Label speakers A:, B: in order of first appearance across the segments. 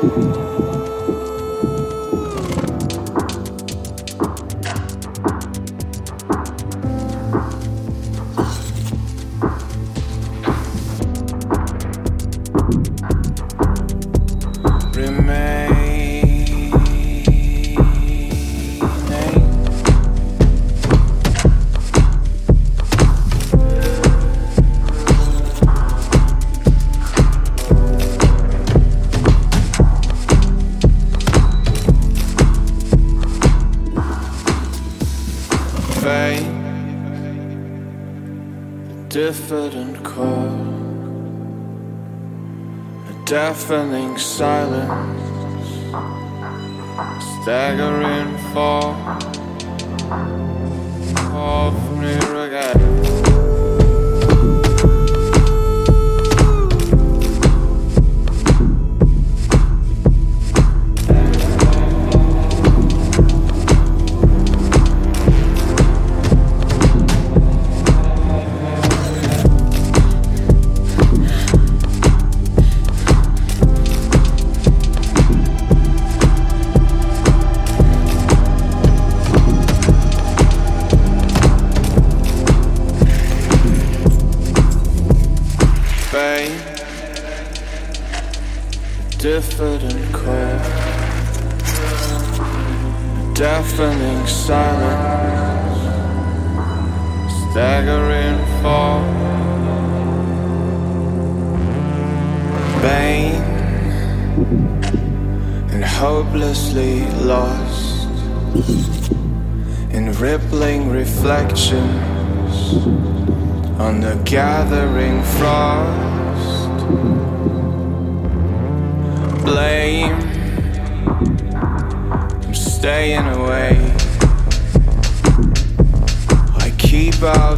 A: Diffident call, a deafening silence, staggering fall of me again. Diffident call, deafening silence, staggering fall, bane and hopelessly lost in rippling reflections on the gathering frost. Blame, I'm staying away. I keep out.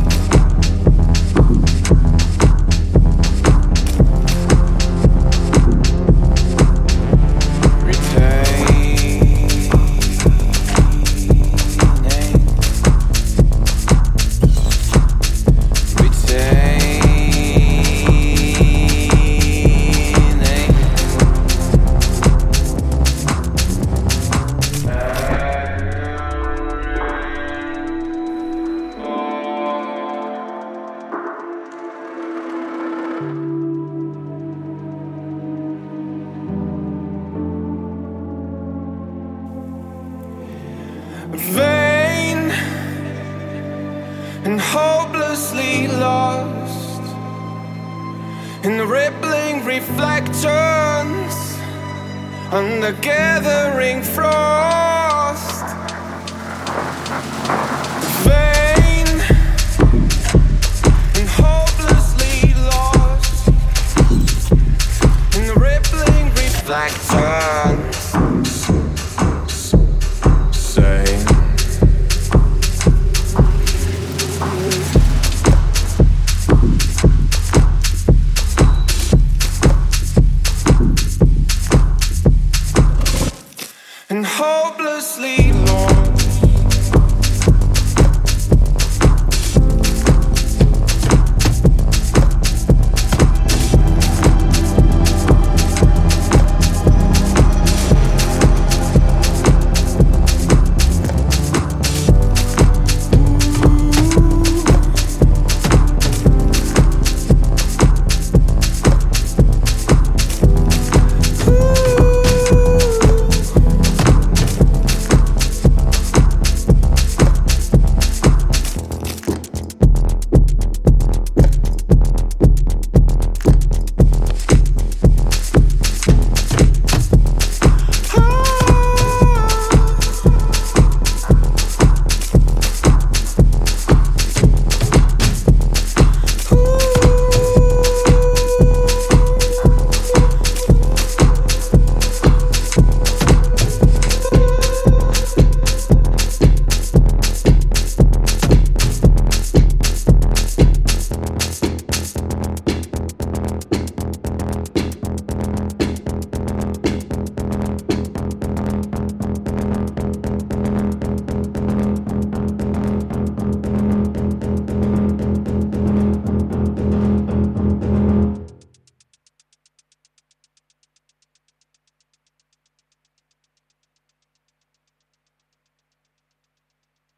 A: Vain and hopelessly lost in the rippling reflections on the gathering frost. Vain and hopelessly lost in the rippling reflections. And hopelessly lost.